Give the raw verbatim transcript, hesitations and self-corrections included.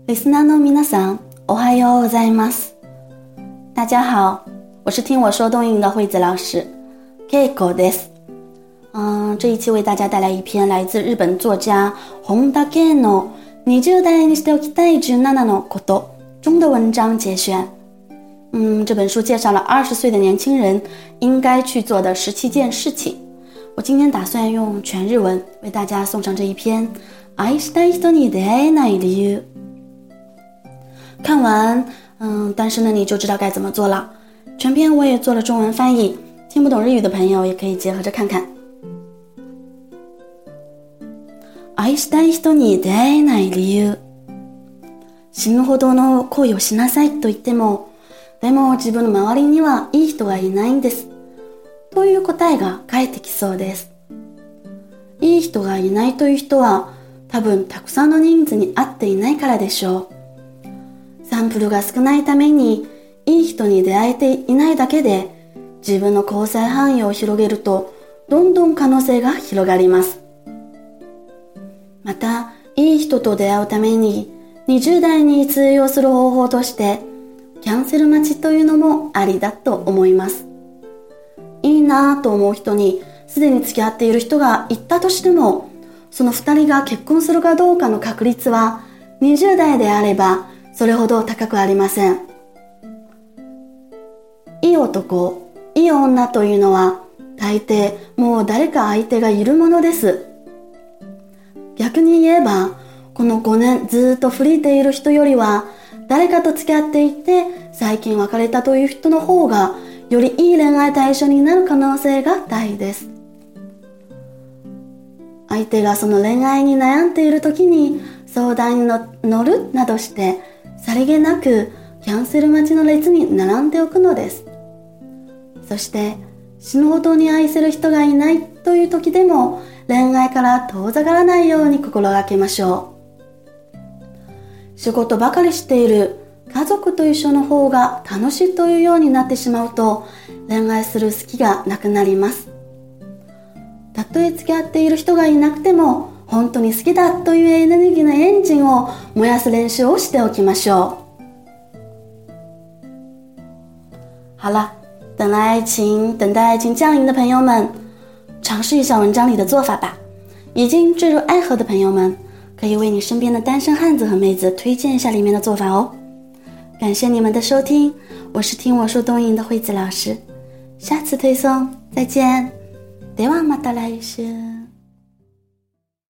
リスナーの皆さん、おはようございます。大家好，我是听我说动音的惠子老师 Keiko です。嗯，这一期为大家带来一篇来自日本作家本田圭のにじゅう代にしておきたいじゅうななのこと中的文章节选。嗯，这本书介绍了二十岁的年轻人应该去做的十七件事情。我今天打算用全日文为大家送上这一篇愛したい人に出会えない理由。看完，嗯，单身的你就知道该怎么做了。全篇我也做了中文翻译，听不懂日语的朋友也可以结合着看看。愛したい人に出会えない理由。死ぬほどの恋をしなさいと言っても、でも自分の周りにはいい人がいないんです。という答えが返ってきそうです。いい人がいないという人は、多分たくさんの人数に会っていないからでしょう。サンプルが少ないために、いい人に出会えていないだけで、自分の交際範囲を広げると、どんどん可能性が広がります。また、いい人と出会うために、にじゅう代に通用する方法として、キャンセル待ちというのもありだと思います。いいなぁと思う人に、すでに付き合っている人がいたとしても、その二人が結婚するかどうかの確率は、にじゅう代であれば、それほど高くありません。いい男、いい女というのは、大抵もう誰か相手がいるものです。逆に言えば、このごねんずっとフリーでいる人よりは、誰かと付き合っていて、最近別れたという人の方が、よりいい恋愛対象になる可能性が大です。相手がその恋愛に悩んでいる時に相談に乗るなどして、さりげなくキャンセル待ちの列に並んでおくのです。そして死ぬほどに愛せる人がいないという時でも恋愛から遠ざからないように心がけましょう。仕事ばかりしている家族と一緒の方が楽しいというようになってしまうと恋愛する好きがなくなります。たとえ付き合っている人がいなくても本当に好きだというエネルギーのエンジンを燃やす練習をしておきましょう。好了，等来爱情，等待爱情降临的朋友们，尝试一下文章里的做法吧。已经坠入爱河的朋友们，可以为你身边的单身汉子和妹子推荐一下里面的做法哦。感谢你们的收听，我是听我说动音的惠子老师，下次推送再见。ではまた来週。